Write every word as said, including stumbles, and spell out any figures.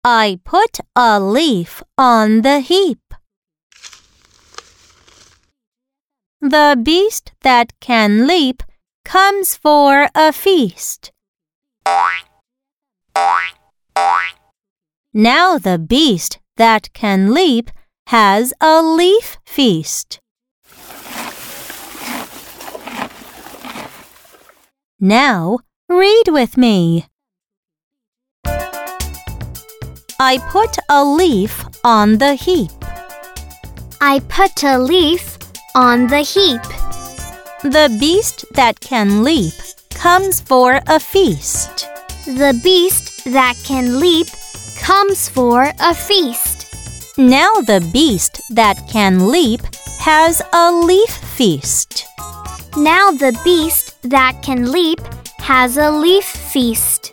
I put a leaf on the heap. The beast that can leap comes for a feast. Now the beast that can leap has a leaf feast. Now read with me. I put a leaf on the heap. I put a leaf on the heap. The beast that can leap comes for a feast. The beast that can leap comes for a feast. Now the beast that can leap has a leaf feast. Now the beast that can leap has a leaf feast.